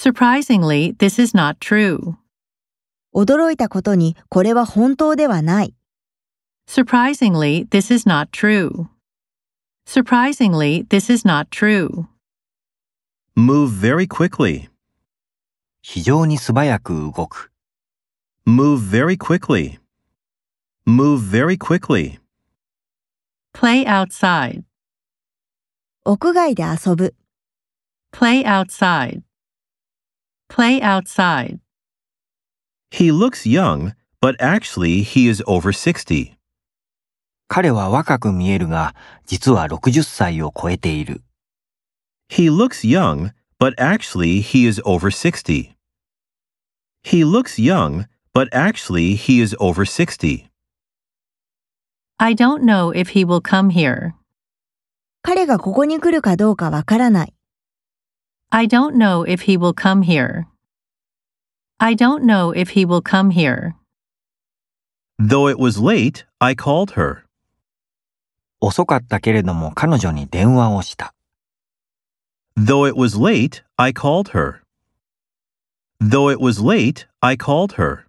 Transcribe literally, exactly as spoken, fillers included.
Surprisingly, this is not true. 驚いたことにこれは本当ではない。 Surprisingly, this is not true. Surprisingly, this is not true. Move very quickly. 非常に素早く動く。 Move very quickly. Move very quickly. Play outside. 屋外で遊ぶ。 Play outside. Play outside. He looks young, but actually he is over sixty. 彼は若く見えるが、実はろくじゅっさいを超えている。 He looks young, but actually he is over sixty. He looks young, but actually he is over sixty. I don't know if he will come here. 彼がここに来るかどうかわからない。 I don't know if he will come here. I don't know if he will come here. Though it was late, I called her. 遅かったけれども彼女に電話をした。 Though it was late, I called her. Though it was late, I called her.